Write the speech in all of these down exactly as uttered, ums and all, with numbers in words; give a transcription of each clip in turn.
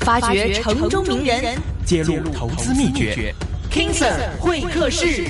發掘城中名人， 揭露投資秘訣。 King Sir 會客室。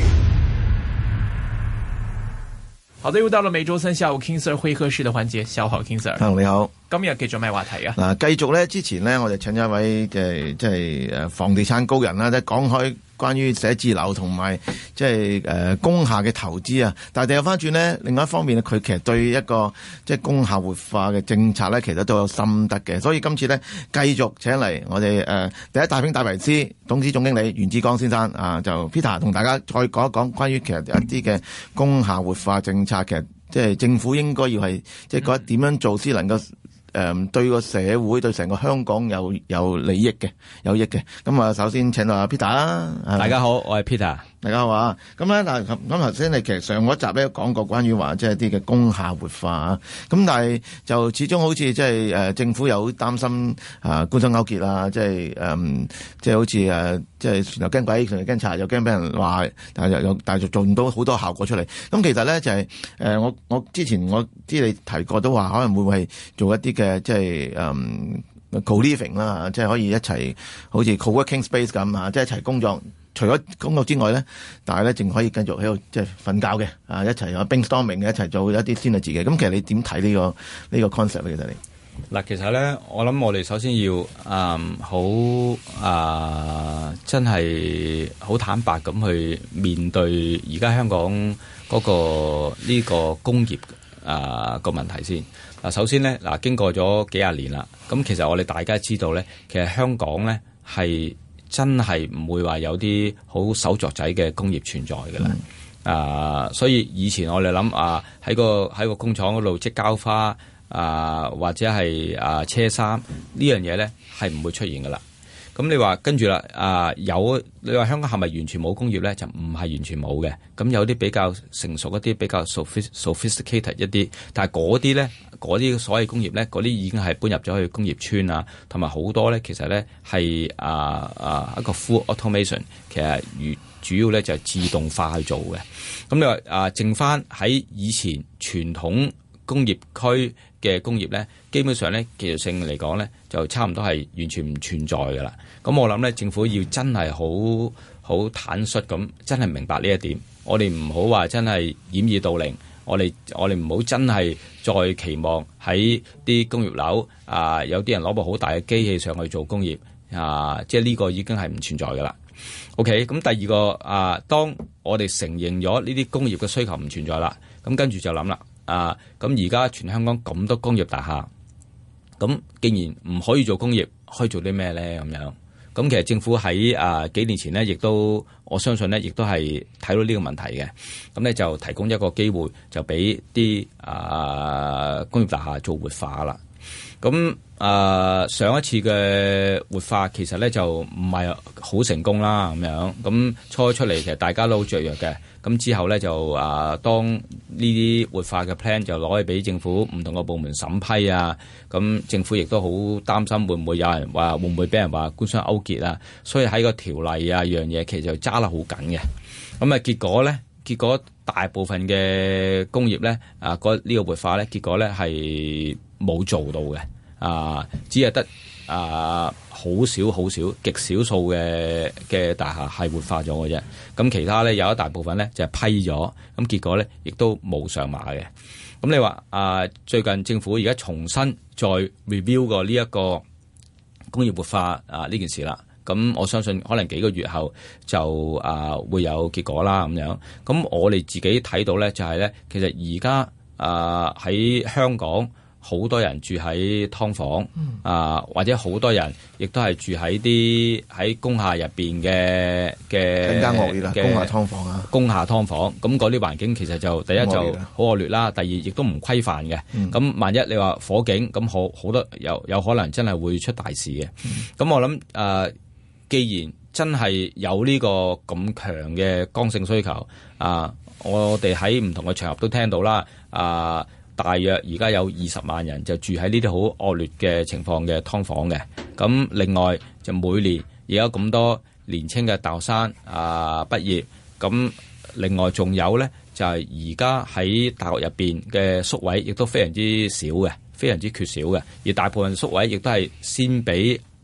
好的，又到了每周三下午 King Sir 會客室的環節。下午好 King Sir。 你好。 今日繼續咩話題啊？ 嗱，繼續咧，之前咧，我哋請咗一位嘅即係誒房地產高人啦，即係講開關於寫字樓同埋即係誒工廈嘅投資啊。但係掉翻轉咧，另外一方面咧，佢其實對一個即係工廈活化嘅政策咧，其實都有心得嘅。所以今次咧，繼續請嚟我哋誒、呃、第一大兵戴維斯董事總經理袁志剛先生啊，就 Peter 同大家再講一講關於其實一啲嘅工廈活化政策，其實即係政府應該要係即係覺得點樣做先能夠誒、嗯，對個社會對成個香港有有利益嘅，有益嘅。咁啊，首先請到阿 Peter 啦。 大家好，我係 Peter。 大家好啊。咁咧嗱，咁頭先你其實上嗰集咧講過關於話即係啲嘅工廈活化啊。咁但係就始終好似即係誒政府有擔心啊官商勾結啊，即係誒即係好似誒即係船頭驚鬼，船頭驚賊，又驚俾人話，但係又又但係做唔到好多效果出嚟。咁其實咧就係、是、誒、呃、我我之前我知你提過都話可能會唔會係做一啲嘅即係誒 co-living 啦，即係可以一齊好似 co-working space 咁啊，即係一齊工作。除咗工作之外咧，但係咧仲可以繼續喺度即係瞓覺嘅啊，一齊有 brainstorming 嘅，一齊做一啲 synergy嘅。咁其實你點睇呢個呢個 concept 咧？其實你嗱，其實咧，我諗我哋首先要嗯好啊，真係好坦白咁去面對而家香港嗰個呢個工業啊個問題先。嗱，首先咧嗱，經過咗幾廿年啦，咁其實我哋大家知道咧，其實香港咧係真係唔會話有啲好手作仔嘅工業存在嘅啦。嗯、啊，所以以前我哋諗啊，喺個喺個工廠嗰度織膠花啊，或者係啊車衫呢樣嘢咧，係唔會出現嘅啦。咁你話跟住啦，啊有你話香港係咪完全冇工業咧？就唔係完全冇嘅。咁有啲比較成熟一啲，比較 sophisticated 一啲，但係嗰啲咧，嗰啲所謂工業咧，嗰啲已經係搬入咗去工業村啊，同埋好多咧，其實咧係啊啊一個 full automation， 其實主要咧就係自動化去做嘅。咁你話啊，剩翻喺以前傳統工業區嘅工業咧，基本上咧技術性嚟講咧，就差唔多係完全唔存在噶啦。咁我諗咧，政府要真係好好坦率咁，真係明白呢一點。我哋唔好話真係掩耳盜鈴，我哋我哋唔好真係再期望喺啲工業樓啊，有啲人攞部好大嘅機器上去做工業啊，即係呢個已經係唔存在噶啦。OK，咁第二個啊，當我哋承認咗呢啲工業嘅需求唔存在啦，咁跟住就諗啦。啊，咁而家全香港咁多工業大廈，咁既然唔可以做工業，可以做啲咩咧？咁樣，咁其實政府喺啊幾年前呢，亦都我相信呢，亦都係睇到呢個問題嘅，咁咧就提供一個機會，就俾啲啊工業大廈做活化啦。咁啊上一次嘅活化其實咧就唔係好成功啦，咁樣，咁初出嚟其實大家都好雀躍嘅。咁之後咧就啊，當呢啲活化嘅 plan 就攞去俾政府唔同嘅部門審批啊，咁政府亦都好擔心會唔會有人話會唔會俾人話官商勾結啊，所以喺個條例啊樣嘢其實就揸得好緊嘅。咁啊結果咧，結果大部分嘅工業咧啊，嗰呢個活化咧，結果咧係冇做到嘅啊，只係得啊。好少好少極少數嘅嘅大廈係活化咗嘅啫，咁其他咧有一大部分咧就係批咗，咁結果咧亦都冇上馬嘅。咁你話啊，最近政府而家重新再 review 過呢一個工業活化啊呢件事啦，咁我相信可能幾個月後就啊會有結果啦咁樣。咁我哋自己睇到咧就係咧，其實而家啊喺香港。好多人住喺劏房，嗯、啊，或者好多人亦都係住喺啲喺工廈入邊嘅嘅更加惡劣啦，工廈劏房啊， 工廈劏房，咁嗰啲環境其實就第一就好惡劣啦，第二亦都唔規範嘅。咁、嗯、萬一你話火警，咁好好多有有可能真係會出大事嘅。咁、嗯、我諗誒、呃，既然真係有呢個咁強嘅剛性需求，啊，我哋喺唔同嘅場合都聽到啦，啊。大約而家有二十萬人就住喺呢啲好惡劣嘅情況嘅劏房嘅，咁另外就每年而家咁多年青嘅大學生啊畢業，咁另外仲有咧就係而家喺大學入邊嘅宿位亦都非常之少嘅，非常之缺少嘅，而大部分宿位亦都係先俾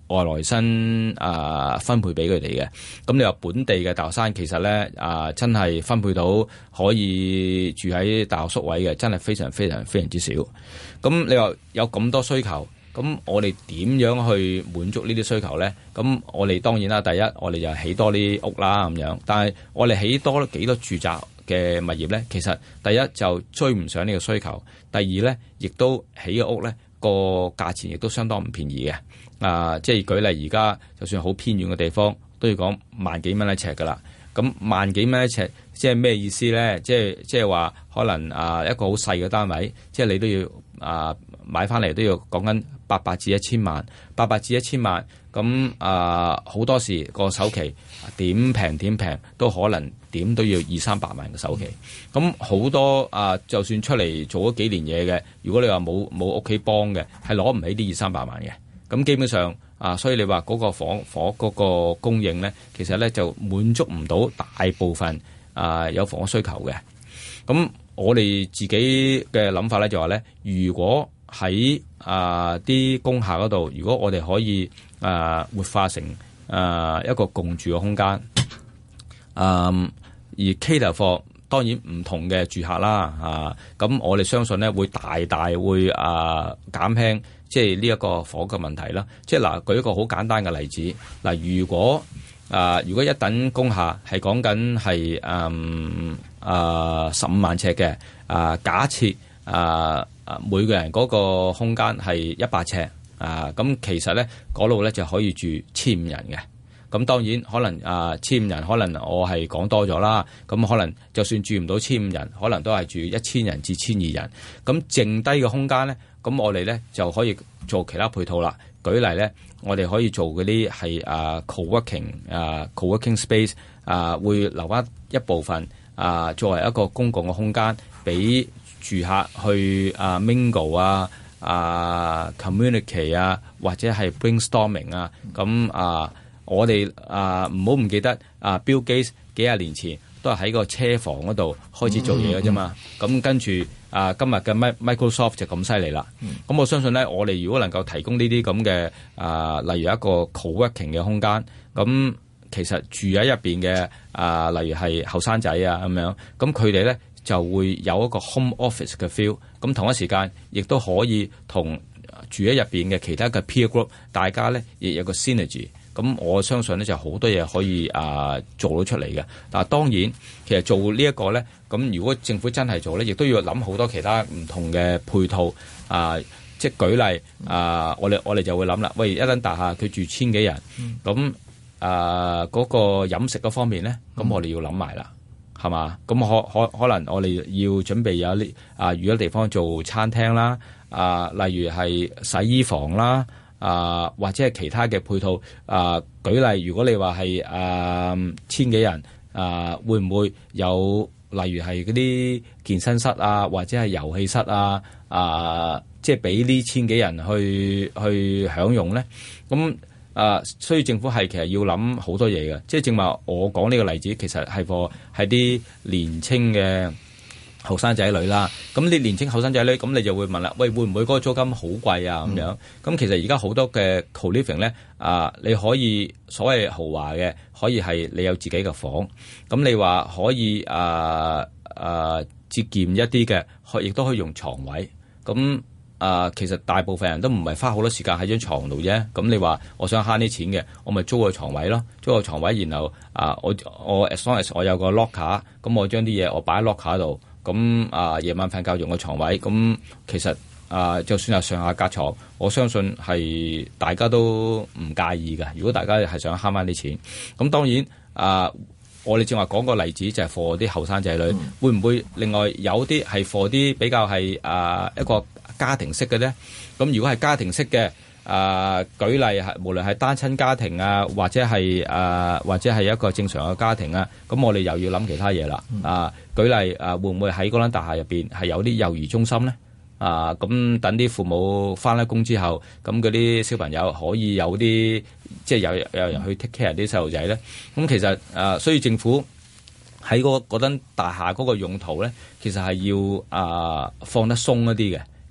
外來生啊分配俾佢哋嘅。咁你話本地嘅大學生其實咧啊真係分配到可以住喺大學宿位嘅，真係非常非常非常之少。咁你話有咁多需求，咁我哋點樣去滿足呢啲需求咧？咁我哋當然啦，第一我哋就起多啲屋啦咁樣，但係我哋起多幾多住宅嘅物業咧，其實第一就追唔上呢個需求，第二咧亦都起嘅屋咧個價錢亦都相當唔便宜嘅。啊，即係舉例，而家就算好偏遠嘅地方，都要講萬幾蚊一尺噶啦。咁萬幾蚊一尺，即係咩意思咧？即係即係話可能啊一個好細嘅單位，即係你都要啊買翻嚟都要講緊八百至一千萬，八百至一千萬。咁啊好多時個首期點平點平都可能點都要二三百萬嘅首期。咁好多啊，就算出嚟做咗幾年嘢嘅，如果你話冇冇屋企幫嘅，係攞唔起啲二三百萬嘅。咁基本上啊，所以你話嗰個房房嗰個供應咧，其實咧就滿足唔到大部分啊有房屋需求嘅。咁我哋自己嘅諗法咧就話咧，如果喺啊啲工廈嗰度，如果我哋可以啊活化成啊一個共住嘅空間，啊而 cater for 當然唔同嘅住客啦，啊咁我哋相信咧會大大會啊減輕。即係呢一個房嘅問題啦。即係嗱，舉一個好簡單嘅例子。嗱，如果啊、呃，如果一等工廈係講緊係誒啊十五萬尺嘅啊、呃，假設啊啊、呃、每個人嗰個空間係一百尺啊，咁、呃、其實咧嗰度咧就可以住千五人嘅。咁當然可能啊千五人，可能我係講多咗啦。咁可能就算住唔到千五人，可能都係住一千人至千二人。咁剩低嘅空間咧，咁我哋咧就可以做其他配套啦。舉例咧，我哋可以做嗰啲係啊 co-working 啊 co-working space 啊，會留翻一部分啊作為一個公共嘅空間，俾住客去啊 mingle 啊啊 communicate 啊，或者係 brainstorming 啊。咁啊，我哋啊唔好唔記得啊 Bill Gates 幾廿年前都係喺個車房嗰度開始做嘢嘅啫嘛。咁、嗯嗯、跟住。啊！今日嘅 Microsoft 就咁犀利啦。咁、嗯、我相信咧，我哋如果能夠提供呢啲咁嘅啊，例如一個 co-working 嘅空間，咁其實住喺入邊嘅啊，例如係後生仔啊咁樣，咁佢哋咧就會有一個 home office 嘅 feel。咁同一時間亦都可以同住喺入邊嘅其他嘅 peer group，大家咧亦有個 synergy。咁我相信咧就好多嘢可以啊做到出嚟嘅。但係當然，其實做呢一個咧，咁如果政府真係做咧，亦都要諗好多其他唔同嘅配套啊。即係舉例啊，我哋我哋就會諗啦。喂，一棟大廈佢住千幾人，咁啊嗰個飲食嗰方面咧，咁我哋要諗埋啦，係嘛？咁可可可能我哋要準備有啲啊，如果地方做餐廳啦，啊，例如係洗衣房啦。啊，或者係其他嘅配套啊，舉例，如果你話係啊千幾人啊，會唔會有例如係嗰啲健身室啊，或者係遊戲室啊，啊，即係俾呢千幾人去去享用咧？咁啊，所以政府係其實要諗好多嘢嘅，即係正話我講呢個例子，其實係個係啲年青嘅後生仔女啦，咁你年青後生仔女，咁你就會問啦，喂，會唔會嗰個租金好貴啊？咁樣，咁、嗯、其實而家好多嘅 co-living 咧，啊，你可以所謂豪華嘅，可以係你有自己嘅房，咁你話可以啊啊節儉一啲嘅，可亦都可以用床位，咁啊，其實大部分人都唔係花好多時間喺張床度啫，咁你話我想慳啲錢嘅，我咪租個床位咯，租個床位，然後啊，我我 as long as 我有個 locker，咁我將啲嘢我擺喺 locker 度。咁啊，夜晚瞓覺用個床位，咁其實啊，就算係上下格床，我相信係大家都唔介意嘅。如果大家係想慳翻啲錢，咁當然啊，我哋正話講個例子就係 for 啲後生仔女，嗯、會唔會另外有啲係 for 啲比較係啊一個家庭式嘅咧？咁如果係家庭式嘅。啊、呃，舉例係無論係單親家庭啊，或者係啊、呃，或者係一個正常嘅家庭啊，咁我哋又要諗其他嘢啦。啊、呃，舉例啊、呃，會唔會喺嗰間大廈入邊係有啲幼兒中心咧？啊、呃，咁等啲父母翻咗工之後，咁嗰啲小朋友可以有啲即係有有人去 take care 啲細路仔咧。咁其實啊、呃，所以政府喺嗰嗰間大廈嗰個用途咧，其實係要啊、呃、放得鬆一啲嘅。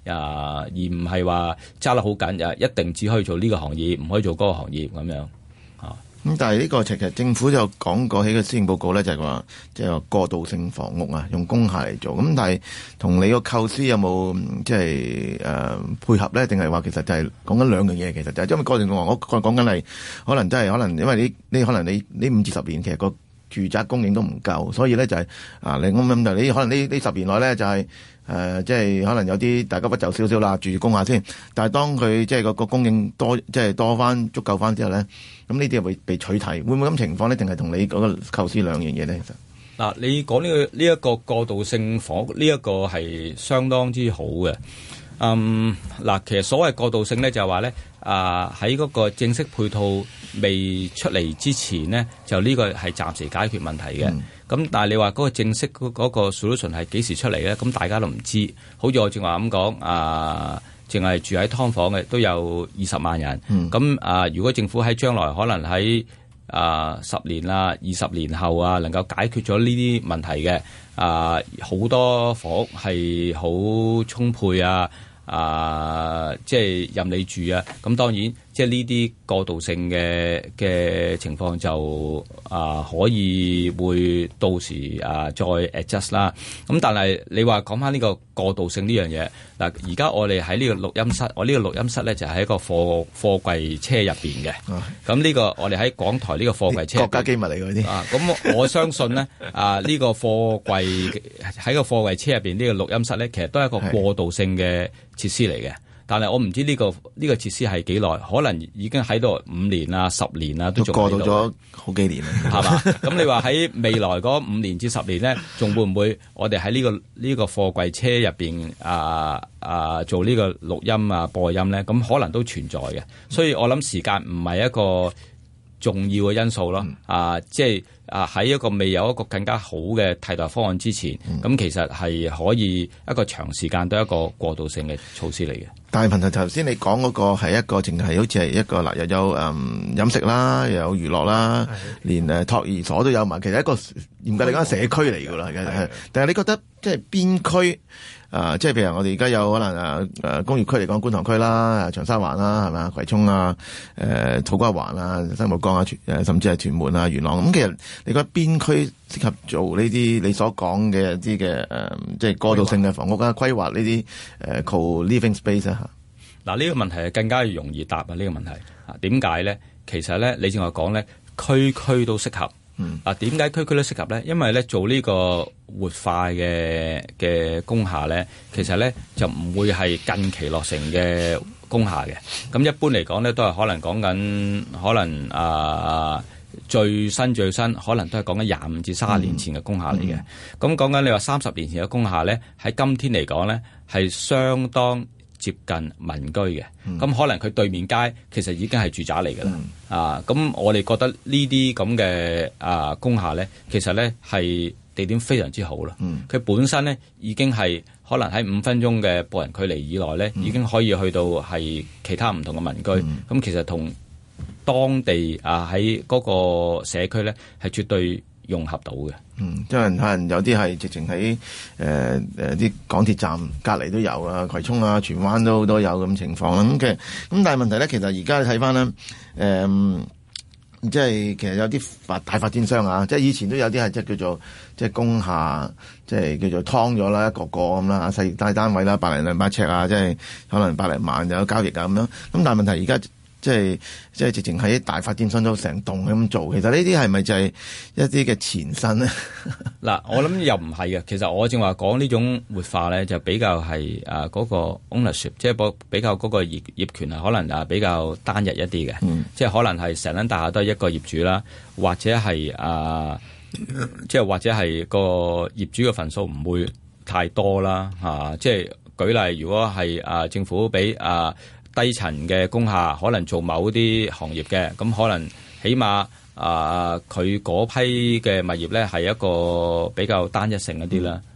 啊，而唔係話揸得好緊，啊，一定只可以做呢個行業，唔可以做嗰個行業咁樣啊。 咁但係呢個其實政府就講過喺個施政報告咧，就係話即係話過渡性房屋啊，用工廈嚟做。咁但係同你個構思有冇即係誒配合咧？定係話其實就係講緊兩樣嘢？其實就係因為過渡性房屋，我講緊係可能真係可能因為你你可能你呢五至十年其實個住宅供應都唔夠，所以咧就係、是、啊你咁咁就你可能呢呢十年內咧就係、是。誒、呃，即係可能有啲大家不就少少啦，住工廈先。但係當佢即係個個供應多，即係多翻足夠翻之後咧，咁呢啲會被取替，會唔會咁情況呢？定係同你嗰個構思兩樣嘢咧？其實嗱，你講呢、這個呢一、這個過渡性房屋呢一個係相當之好嘅。嗯，嗱，其實所謂過渡性咧，就係話咧，啊喺嗰個正式配套未出嚟之前呢，就呢個係暫時解決問題嘅。咁、嗯、但係你話嗰個正式嗰嗰個 solution 係幾時出嚟咧？咁大家都唔知。好似我正話咁講，啊，淨係住喺劏房嘅都有二十萬人。咁、嗯、啊，如果政府喺將來可能喺啊十年啊、二十年後啊，能夠解決咗呢啲問題嘅，啊好多房屋係好充沛啊！啊，即係任你住啊！咁當然，即係呢啲過渡性嘅嘅情況就啊，可以會到時啊再 adjust 啦。咁但係你話講翻呢個過渡性呢樣嘢嗱，而家我哋喺呢個錄音室，我呢個錄音室咧就喺一個貨貨櫃車入邊嘅。咁呢、啊、個我哋喺港台呢個貨櫃車國家機密嚟嗰啲啊。咁我相信咧啊，呢、這個貨櫃喺個貨櫃車入邊呢個錄音室咧，其實都係一個過渡性嘅設施嚟嘅，但係我唔知呢、這個呢、這個設施係幾耐，可能已經喺度五年啊、十年啊，都仲過渡咗好幾年啦，係嘛？咁你話喺未來嗰五年至十年咧，仲會唔會我哋喺呢個呢、這個貨櫃車入邊啊啊做呢個錄音啊播音咧？咁可能都存在嘅，所以我諗時間唔係一個重要嘅因素咯。嗯、啊，即係啊喺一個未有一個更加好嘅替代方案之前，咁、嗯、其實係可以一個長時間都係一個過渡性嘅措施嚟嘅。但係問題頭先你講嗰個係一個淨係好似係一個嗱，又有誒飲食啦，又有娛樂啦，連誒托兒所都有埋，其實一個嚴格嚟講係社區嚟㗎啦。係，但係你覺得即係邊區？啊，即係譬如我哋而家有可能啊，誒工業區嚟講，觀塘區啦、長沙灣啦，係咪啊？葵涌啊、誒、呃、土瓜灣啊、新蒲崗啊，誒甚至係屯門啊、元朗咁、嗯。其實你覺得邊區適合做呢啲你所講嘅一啲嘅誒，即係過渡性嘅房屋啊？規劃呢啲誒 co-living space 啊？嗱，呢個問題係更加容易答啊！呢、這個問題啊，點解咧？其實咧，你正話講咧，區區都適合。嗯，嗱，點解區區都適合咧？因為咧做呢個活化嘅嘅工廈咧，其實咧就唔會係近期落成嘅工廈嘅。咁一般嚟講咧，都係可能講緊可能啊、呃、最新最新，可能都係講緊廿五至三十年前嘅工廈嚟嘅。咁講緊你話三十年前嘅工廈咧，喺今天嚟講咧係相當接近民居嘅，咁、嗯、可能佢對面街其實已經係住宅嚟㗎啦，嗯、啊，咁我哋覺得呢啲咁嘅啊工廈咧，其實咧係地點非常之好啦，佢、嗯、本身咧已經係可能喺五分鐘嘅步行距離以內咧，嗯、已經可以去到係其他唔同嘅民居，咁、嗯、其實同當地啊喺嗰個社區咧係絕對融合到嘅。嗯，即係可能有啲係直情喺誒誒啲港鐵站隔離都有啊，葵涌啊、荃灣都都有咁情況啦。咁嘅咁，但係問題咧，其實而家睇翻咧，誒、呃，即係其實有啲發大發展商啊，即係以前都有啲係即係叫做即係工廈，即係叫做劏咗啦，一個個咁啦，細大單位啦，百零兩百尺啊，即係可能百零萬就有交易啊咁樣。咁但係問題而家。即係即係直情喺大發展商都成棟咁做，其實呢啲係咪就係一啲嘅前身咧？嗱，我諗又唔係嘅。其實我正話講呢種活化咧，就比較係誒嗰個 ownership，即係比較嗰個業業權係可能啊比較單一一啲嘅，嗯、即係可能係成間大廈都係一個業主啦，或者係啊，即係或者係個業主嘅份數唔會太多啦嚇、啊。即係舉例，如果係啊政府俾啊。低層嘅工廈可能做某啲行業嘅，咁可能起碼啊，佢、呃、嗰批嘅物業咧係一個比較單一性一啲啦。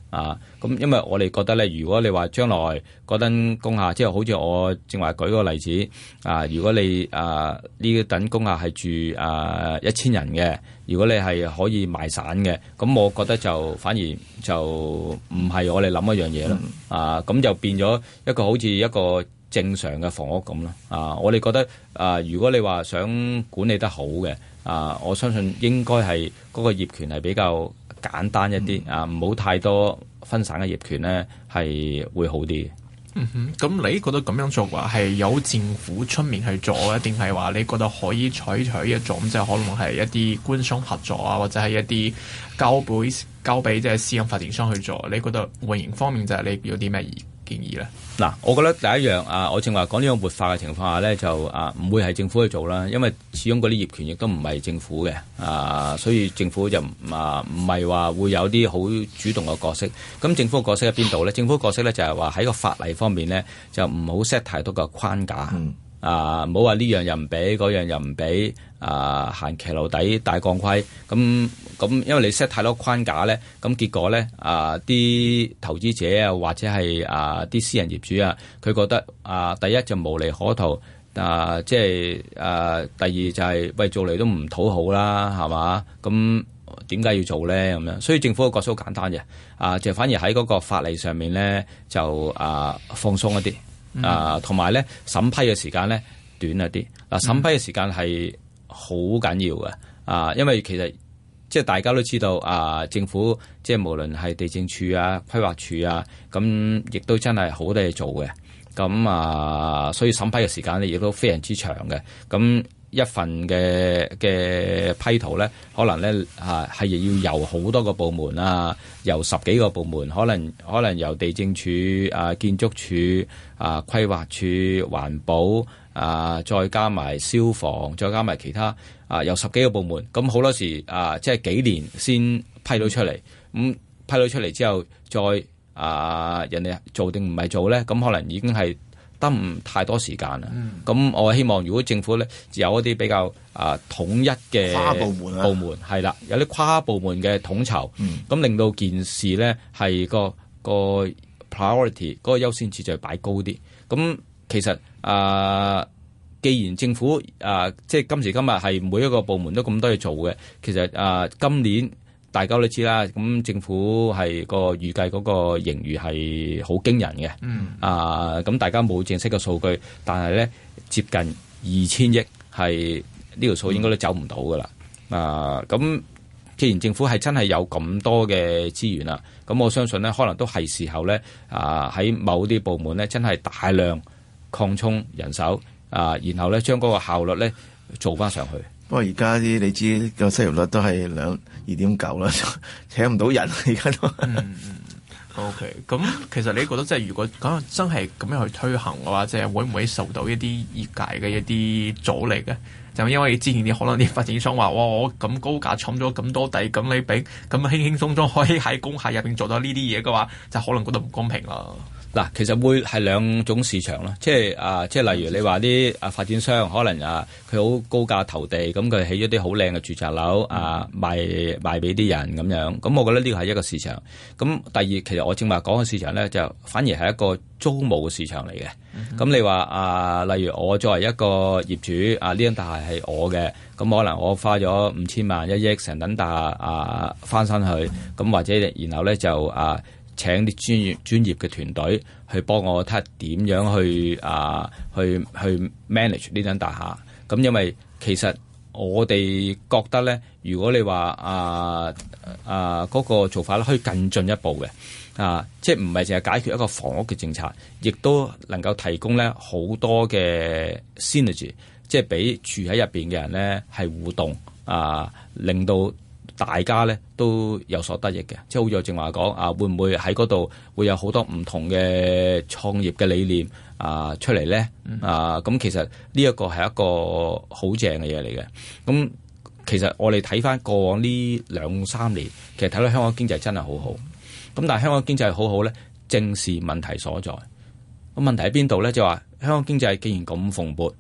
啊，咁因為我哋覺得咧，如果你話將來嗰等工廈，即係好似我正話舉個例子啊，如果你啊呢等工廈係住啊一千人嘅，如果你係可以賣散嘅，咁我覺得就反而就唔係我哋諗一樣嘢啦。嗯、啊，咁就變咗一個好似一個正常嘅房屋咁咯。啊，我哋覺得啊，如果你話想管理得好嘅，啊，我相信應該係嗰個業權係比較簡單一啲、嗯、啊，唔好太多分散嘅業權咧，係會好啲。 嗯哼，咁你覺得咁樣做話係有政府出面去做啊，定係話你覺得可以採取一種即係可能係一啲官商合作啊，或者係一啲交俾交俾即係私人發展商去做？你覺得運營方面就係你有啲咩建議咧？ 嗱，我覺得第一樣啊，我正話講呢個活化嘅情況下咧，就啊唔會係政府去做啦，因為始終嗰啲業權亦都唔係政府嘅啊，所以政府就啊唔係話會有啲好主動嘅角色。咁政府嘅角色喺邊度咧？政府嘅角色咧就係話喺個法例方面咧，就唔好 set 太多嘅框架。嗯啊，唔好話呢樣又唔俾，嗰樣又唔俾，啊行騎樓底大鋼盔，咁咁，因為你 set 太多框架咧，咁結果咧啊啲投資者啊或者係啊啲私人業主啊，佢覺得啊第一就無利可圖，啊即係啊第二就係、是、喂做嚟都唔討好啦，係嘛？咁點解要做咧？咁樣，所以政府嘅角色好簡單嘅，啊就反而喺嗰個法例上面咧就啊放鬆一啲。啊，同埋咧審批嘅時間咧短一啲。嗱，審批嘅時間係好緊要嘅。啊，因為其實即係大家都知道啊，政府即係無論係地政處啊、規劃處啊，咁亦都真係好多嘢做嘅。咁啊，所以審批嘅時間咧亦都非常之長嘅。咁一份嘅嘅批圖咧，可能咧啊係要由好多個部門啊，由十幾個部門，可能可能由地政處啊、建築署啊、規劃處、環保啊，再加埋消防，再加埋其他啊，由十幾個部門，咁好多時啊，即係幾年先批到出嚟。咁批到出嚟之後，再啊人哋做定唔係做咧，咁可能已經係得唔太多時間啦，咁、嗯、我希望如果政府咧有一啲比較啊統一嘅跨部門啊， 部門係啦，有啲跨部門嘅統籌，咁、嗯、令到件事咧係個個 priority 嗰個優先次序擺高啲。咁其實啊，既然政府啊即係今時今日係每一個部門都咁多嘢做嘅，其實啊今年大家都知啦，咁政府係個預計嗰個盈餘係好驚人嘅，嗯、啊，咁大家冇正式嘅數據，但係咧接近二千億係呢條數應該都走唔到噶啦，啊，咁既然政府係真係有咁多嘅資源啦，咁我相信咧可能都係時候咧啊喺某啲部門咧真係大量擴充人手啊，然後咧將嗰個效率咧做翻上去。 不過而家啲你知個失業率都係兩二點九啦，請唔到人而家都。嗯嗯，OK。咁其實你覺得即係如果講真係咁樣去推行嘅話，即係會唔會受到一啲業界嘅一啲阻力嘅？就因為之前啲可能啲發展商話，哇，我咁高價搶咗咁多地，咁你俾咁輕輕鬆鬆可以喺工廈入邊做到呢啲嘢嘅話，就可能覺得唔公平啦。 嗱，其實會係兩種市場咯，即係啊，即係例如你話啲啊發展商可能啊，佢好高價投地，咁佢起咗啲好靚嘅住宅樓啊，賣賣俾啲人咁樣，咁我覺得呢個係一個市場。咁第二，其實我正話講嘅市場咧，就反而係一個租務嘅市場嚟嘅。咁、嗯、你話啊，例如我作為一個業主啊，呢間大廈係我嘅，咁可能我花咗五千萬一億成等大廈啊翻新去，咁、嗯、或者然後咧就啊。請啲專業專業嘅團隊去幫我睇下點樣去啊去去 manage 呢間大廈。咁因為其實我哋覺得咧，如果你話啊啊嗰個做法咧，可以更進一步嘅啊，即係唔係淨係解決一個房屋嘅政策，亦都能夠提供咧好多嘅 synergy， 即係俾住喺入邊嘅人咧係互動啊，令到大家咧都有所得益嘅，即係好似我正話講啊，會唔會喺嗰度會有好多唔同嘅創業嘅理念啊出嚟咧？啊，咁其實呢一個係一個好正嘅嘢嚟嘅。咁其實我哋睇翻過往呢兩三年，其實睇到香港經濟真係好好。咁但係香港經濟好好咧，正是問題所在。咁問題喺邊度咧？就話香港經濟既然咁蓬勃，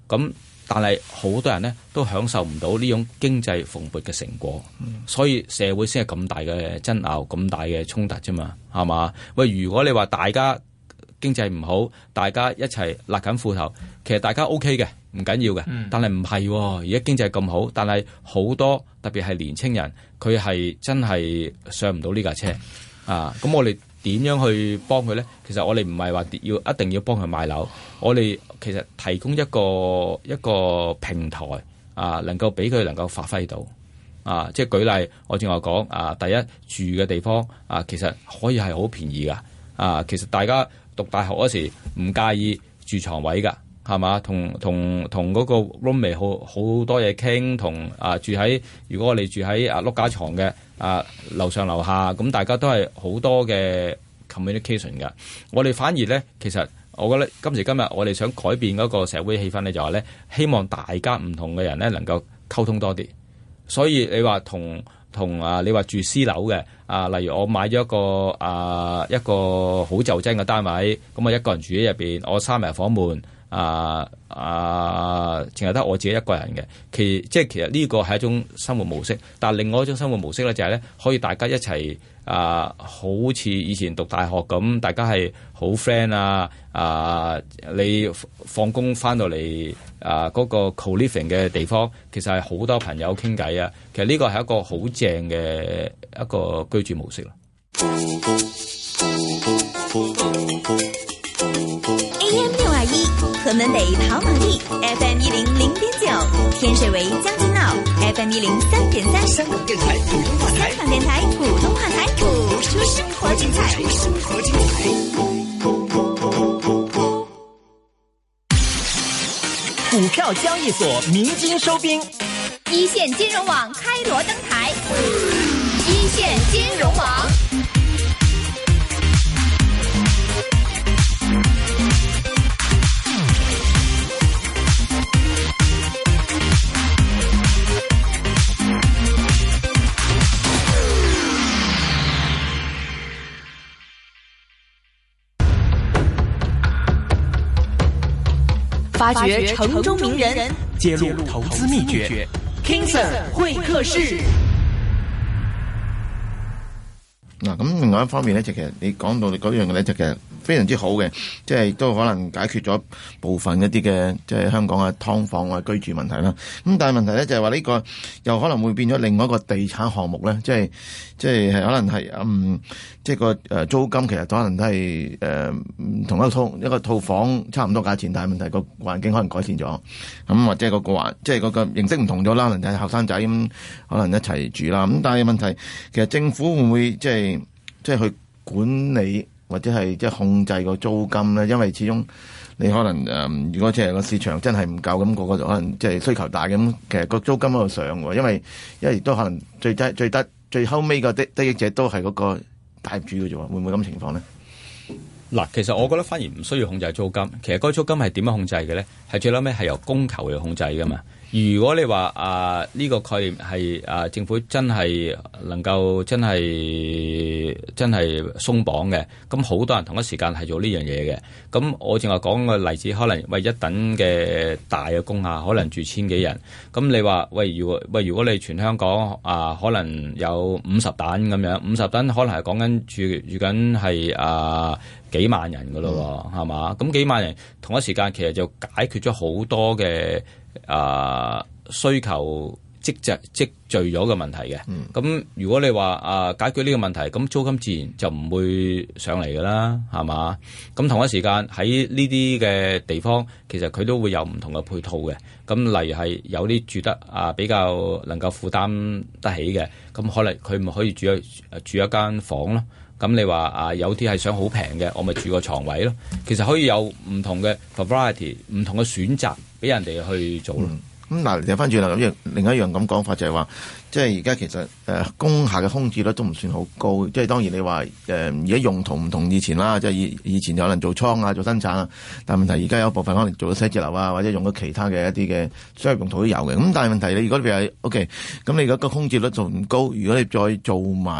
咁但係好多人呢都享受唔到呢種經濟蓬勃嘅成果，嗯、所以社會先係咁大嘅爭拗、咁大嘅衝突啫嘛，係嘛？喂，如果你話大家經濟唔好，大家一齊勒緊褲頭，其實大家 O K 嘅，唔緊要嘅。嗯、但係唔係，而家經濟咁好，但係好多特別係年青人，佢係真係上唔到呢架車啊！咁我哋點樣去幫佢咧？其實我哋唔係話要一定要幫佢買樓，我哋其實提供一個一個平台啊，能夠俾佢能夠發揮到啊。即係舉例，我正話講啊，第一住嘅地方啊，其實可以係好便宜噶啊。其實大家讀大學嗰時唔介意住床位噶，係嘛？同同同嗰個 roommate 好好多嘢傾，同啊住喺如果我哋住喺啊碌架床嘅啊樓上樓下，咁大家都係好多嘅 communication 噶。我哋反而咧，其實我覺得今時今日我哋想改變嗰個社會氣氛咧，就話咧希望大家唔同嘅人咧能夠溝通多啲。所以你話同同啊，你話住私樓嘅啊，例如我買咗一個啊一個好就真嘅單位，咁我一個人住喺入邊，我閂埋房門。啊啊，淨係得我自己一個人嘅，其即係其實呢個係一種生活模式。但係另外一種生活模式咧，就係咧可以大家一齊啊，好似以前讀大學咁，大家係好 friend 啊啊！你放工翻到嚟啊，嗰個 co-living 嘅地方，其實係好多朋友傾偈啊。其實呢個係一個好正嘅一個居住模式咯。 A M 六二一，河門北跑馬地 ，F M 一零零點九，天水圍將軍澳 ，F M 一零三點三。香港電台普通話台，香港電台普通話台，播出生活精彩。生活精彩。 股票交易所鳴金收兵， 一線金融網開鑼登台，一線金融網。發掘城中名人， 揭露投資秘訣。King Sir 會客室。 嗱，咁另外一方面咧，就其實你講到嗰樣嘅咧，就其實非常之好嘅，即係都可能解決咗部分一啲嘅即係香港嘅劏房啊居住問題啦。咁但係問題咧就係話呢個又可能會變咗另外一個地產項目咧，即係即係可能係嗯即係個誒租金其實可能都係誒同一個套一個套房差唔多價錢，但係問題個環境可能改善咗，咁或者個個環即係嗰個形式唔同咗啦，可能係後生仔咁可能一齊住啦。咁但係問題其實政府會唔會即係即係去管理或者係即係控制個租金咧？因為始終你可能誒、呃，如果即係個市場真係唔夠，咁、那個個就可能即係需求大咁，其實個租金喺度上喎。因為因為亦都可能最低最低最後尾個得得益者都係嗰個大業主嘅啫喎，會唔會咁情況咧？ 嗱，其實我覺得反而唔需要控制租金。其實嗰個租金係點樣控制嘅咧？係最後尾係由供求嚟控制㗎嘛。如果你話啊呢個概念係啊政府真係能夠真係真係鬆綁嘅，咁好多人同一時間係做呢樣嘢嘅。咁我正話講個例子，可能喂一等嘅大嘅工廈，可能住千幾人。咁你話喂，如果喂如果你全香港啊，可能有五十等咁樣，五十等可能係講緊住住緊係啊幾萬人噶咯，係嘛？咁幾萬人同一時間其實就解決咗好多嘅。啊，需求積聚積聚咗嘅問題嘅，咁、嗯、如果你話啊解決呢個問題，咁租金自然就唔會上嚟噶啦，係嘛？咁同一時間喺呢啲嘅地方，其實佢都會有唔同嘅配套嘅。咁例如係有啲住得啊比較能夠負擔得起嘅，咁可能佢咪可以住一住一間房咯。咁你話啊有啲係想好平嘅，我咪住個床位咯。其實可以有唔同嘅 variety， 唔同嘅選擇俾人哋去做咯。 咁嗱、嗯，掉翻轉啦，咁樣另一樣咁講法就係話，即係而家其實誒工廈嘅空置率都唔算好高。即係當然你話誒而家用途唔同以前啦，即係以以前有人做倉啊、做生產啊，但係問題而家有部分可能做咗寫字樓啊，或者用咗其他嘅一啲嘅商業用途都有嘅。咁但係問題你如果你話 OK，咁你而家個空置率仲唔高，如果你再做埋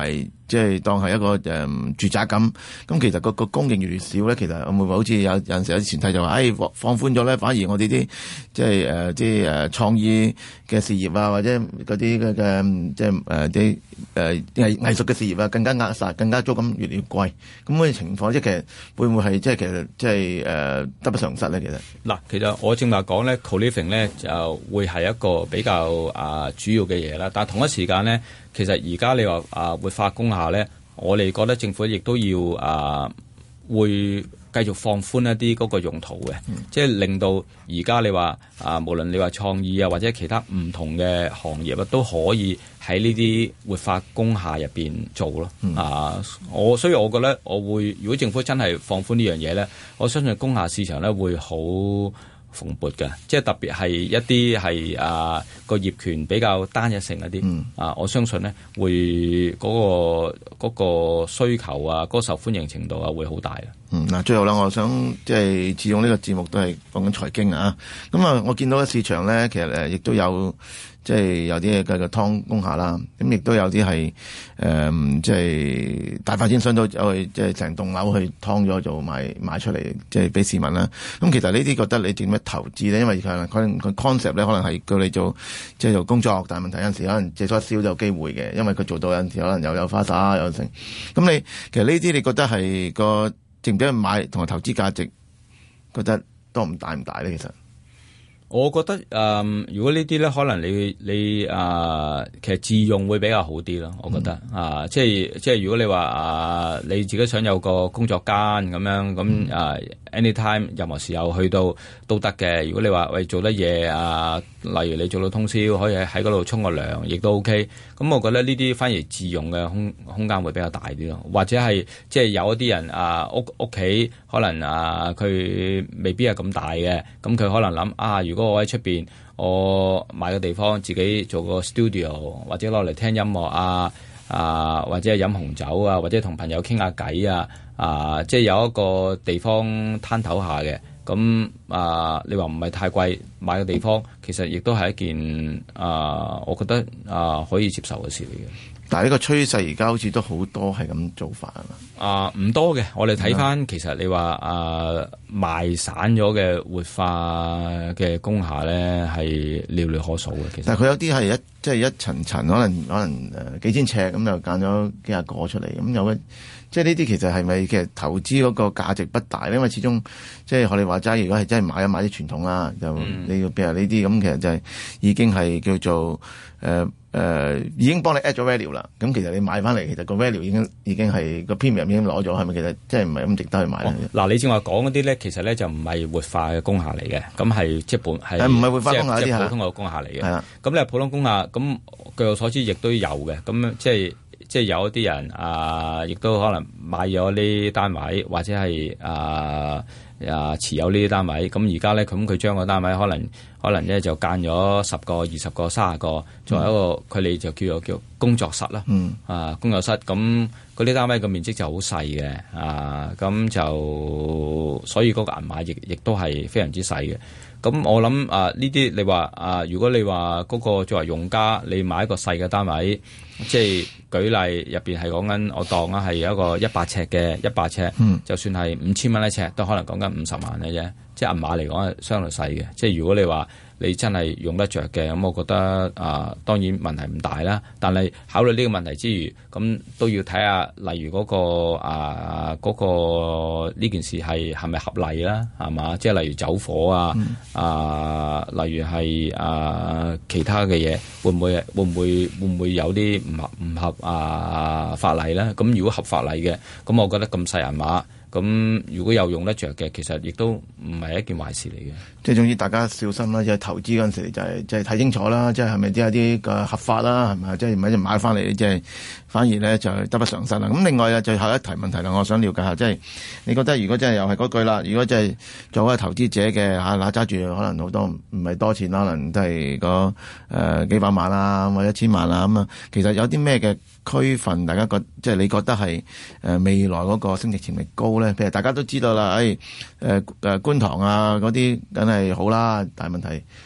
即係當係一個誒、嗯、住宅咁，咁其實個個供應越嚟越少咧，其實會唔會好似有有陣時有啲前提就話，誒、哎、放寬咗咧，反而我哋啲即係誒啲誒創意嘅事業啊，或者嗰啲嘅嘅即係誒啲誒藝藝術嘅事業啊，更加壓殺，更加租金越嚟越貴。咁嗰啲情況即係其實會唔會係即係其實即係誒得不償失咧？其實嗱，其實我正話講咧 co-living 咧就會係一個比較啊、呃、主要嘅嘢啦，但係同一時間咧。其實而家你話啊活化工廈咧，我哋覺得政府亦都要啊會繼續放寬一啲嗰個用途嘅，嗯、即係令到而家你話啊無論你話創意啊或者其他唔同嘅行業啊都可以喺呢啲活化工廈入邊做咯。嗯、啊，我所以我覺得我會如果政府真係放寬呢樣嘢咧，我相信工廈市場咧會好蓬勃嘅，即係特別係一啲係啊個業權比較單一性一啲，嗯、啊我相信咧會嗰、嗰個嗰、嗰個需求啊，嗰、嗰個受歡迎程度啊會好大嘅。 嗯，嗱，最後啦，我想即係始終呢個節目都係講緊財經啊，咁啊，我見到嘅市場咧，其實誒亦都有。即係有啲嘅嘅劏工廈啦，咁亦都有啲係誒，即係大發展商都走去即係成棟樓去劏咗做賣賣出嚟，即係俾市民啦。咁其實呢啲覺得你點樣投資咧？因為佢可能佢 concept 咧，可能係叫你做即係做工作，但係問題有陣時可能借咗一燒就有機會嘅，因為佢做到有陣時可能又有花灑有成。咁你其實呢啲你覺得係個值唔值得買同埋投資價值，覺得多唔大唔大咧？其實？ 我覺得誒、呃，如果呢啲咧，可能你你誒、呃，其實自用會比較好啲咯。我覺得、嗯、啊，即係即係如果你話啊，你自己想有個工作間咁樣咁啊 anytime 任何時候去到都得嘅。如果你話喂做得嘢啊，例如你做到通宵，可以喺喺嗰度沖個涼，亦都 OK。咁我覺得呢啲反而自用嘅空空間會比較大啲咯。或者係即係有一啲人啊，屋屋企可能啊，佢未必係咁大嘅，咁佢可能諗啊，如果我喺出邊，我買個地方自己做個 studio， 或者攞嚟聽音樂啊，啊或者係飲紅酒啊，或者同朋友傾下偈啊，啊即係有一個地方攤頭下嘅，咁啊你話唔係太貴，買個地方其實亦都係一件啊，我覺得啊可以接受嘅事嚟嘅。 但係呢個趨勢而家好似都好多係咁做法啊嘛， 啊唔多嘅，我哋睇翻其實你話啊賣散咗嘅活化嘅工廈咧係寥寥可數嘅。其實， 但係佢有啲係一即係一層層，可能可能誒幾千尺咁就揀咗幾廿個出嚟，咁有嘅即係呢啲其實係咪其實投資嗰個價值不大咧？因為始終即係學你話齋，如果係真係買一買啲傳統啦，就、嗯、你要譬如呢啲咁，其實就係已經係叫做誒。呃誒、呃、已經幫你 add 咗 value 啦，咁其實你買翻嚟，其實個 value 已經已經係個 premium 已經攞咗，係咪其實即係唔係咁值得去買咧？嗱、 哦，你正話講嗰啲咧，其實咧就唔係活化嘅工廈嚟嘅，咁係即係本係唔係活化工廈啲係普通嘅工廈嚟嘅。係啊， 咁你係普通工廈，咁據我所知亦都有嘅，咁即係即係有一啲人啊，亦都可能買咗呢啲單位，或者係啊啊持有呢啲單位，咁而家咧咁佢將個單位可能。可能咧就間咗十個、二十個、三十個，作為一個佢哋、嗯、就叫做叫工作室啦。嗯，啊工作室咁嗰啲單位嘅面積就好細嘅，啊咁就所以嗰個銀碼亦亦都係非常之細嘅。咁我諗啊呢啲你話啊，如果你話嗰個作為用家，你買一個細嘅單位，即係舉例入邊係講緊我當啊係有一個一百尺嘅一百尺，嗯、就算係五千蚊一尺，都可能講緊五十萬嘅啫。即係銀碼嚟講係相對細嘅，即係如果你話你真係用得着嘅，咁我覺得啊、呃、當然問題唔大啦。但係考慮呢個問題之餘，咁都要睇下，例如嗰、嗰個啊嗰、嗰個呢件事係係咪合例啦，係嘛？即係例如走火啊，嗯、啊例如係啊其他嘅嘢，會唔會會唔會會唔會有啲唔合唔合啊法例咧？咁如果合法例嘅，咁我覺得咁細銀碼。咁如果有用得着嘅，其實亦都唔係一件壞事嚟嘅。 即係總之大家小心啦，即係投資嗰陣時就係即係睇清楚啦，即係係咪啲有啲嘅合法啦，係咪？即係唔係就買翻嚟，即係反而咧就得不償失啦。咁另外啊，最後一題問題啦，我想了解下，即係你覺得如果真係又係嗰句啦，如果真係作為投資者嘅嚇，嗱揸住可能好多唔係多錢，可能都係個誒幾百萬啊，或者一千萬啊咁啊，其實有啲咩嘅區分，大家覺即係你覺得係誒未來嗰個升值潛力高咧？譬如大家都知道啦，誒誒誒觀塘啊嗰啲梗係好啦，但係問題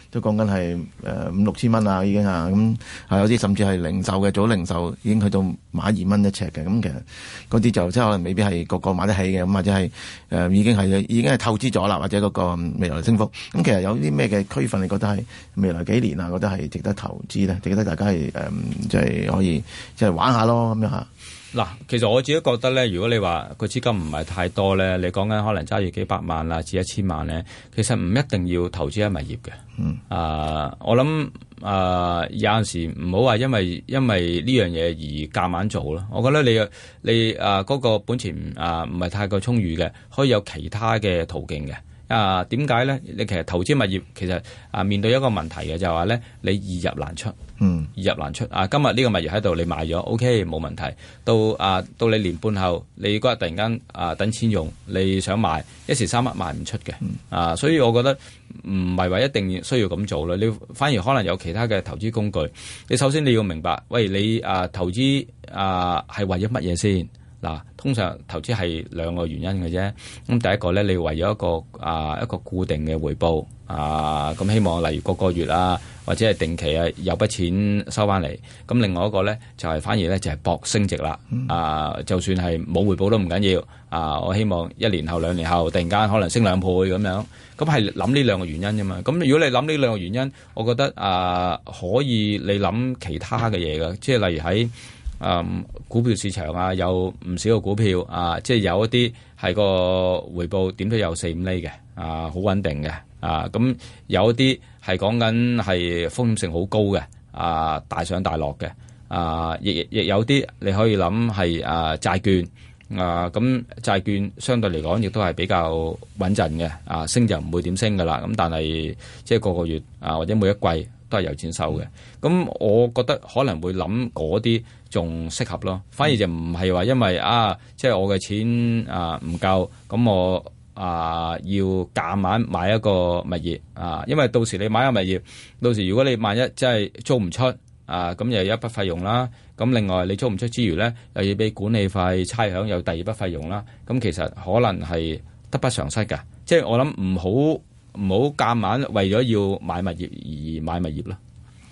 都講緊係誒五六千蚊啊已經啊，咁係有啲甚至係零售嘅，早零售已經去到買二蚊一尺嘅，咁其實嗰啲就即係可能未必係個個買得起嘅，咁或者係誒、呃、已經係已經係透支咗啦，或者嗰個未來升幅。咁其實有啲咩嘅區分你覺得係未來幾年啊，覺得係值得投資咧，值得大家係誒即係可以即係玩下咯咁樣嚇。 嗱，其實我自己覺得咧，如果你話個資金唔係太多咧，你講緊可能揸住幾百萬啦至一千萬咧，其實唔一定要投資喺物業嘅。嗯。啊、呃，我諗啊、呃，有陣時唔好話因為因為呢樣嘢而夾硬做咯。我覺得你你啊嗰、呃那個本錢啊唔係太過充裕嘅，可以有其他嘅途徑嘅。啊，點解咧？你其實投資物業其實啊面對一個問題嘅就係話咧，你易入難出，嗯，易入難出。啊，今日呢個物業喺度，你賣咗 OK 冇問題。到啊到你年半後，你嗰日突然間啊等錢用，你想賣一時三刻賣唔出嘅，嗯、啊，所以我覺得唔係話一定需要咁做啦。你反而可能有其他嘅投資工具。你首先你要明白，喂，你啊投資啊係為咗乜嘢先？嗱，通常投資係兩個原因嘅啫。咁第一個咧，你為咗一個啊一個固定嘅回報啊，咁希望例如個個月啊，或者係定期啊有筆錢收翻嚟。咁另外一個咧就係、是、反而咧就係搏升值啦。啊，就算係冇回報都唔緊要。啊，我希望一年後兩年後突然間可能升兩倍咁樣。咁係諗呢兩個原因啫嘛。咁如果你諗呢兩個原因，我覺得啊可以你諗其他嘅嘢嘅，即係例如喺嗯，股票市場啊，有唔少個股票啊，即係有一啲係個回報點都有四五厘嘅，啊，好穩定嘅，啊，咁有一啲係講緊係風險性好高嘅，啊，大上大落嘅，啊，亦亦有啲你可以諗係啊債券，啊，咁債券相對嚟講亦都係比較穩陣嘅，啊，升就唔會點升噶啦，咁但係即係個個月啊或者每一季都係有錢收嘅，咁我覺得可能會諗嗰啲仲適合咯，反而就唔係話因為啊，即係我嘅錢啊唔夠，咁我啊要夾硬買一個物業啊，因為到時你買一個物業，到時如果你萬一真係租唔出啊，咁又有一筆費用啦，咁另外你租唔出之餘咧，又要俾管理費、差餉，有第二筆費用啦，咁其實可能係得不償失㗎，即係我諗唔好。唔好夾硬為咗要買物業而買物業啦。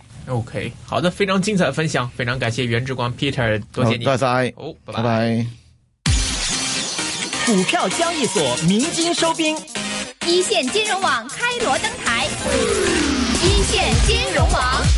OK， 好的，非常精彩的分享，非常感謝袁志光 Peter， 多謝你， 多謝， 好，拜拜拜。 股票交易所鳴金收兵， 一線金融網開鑼登台，一線金融網。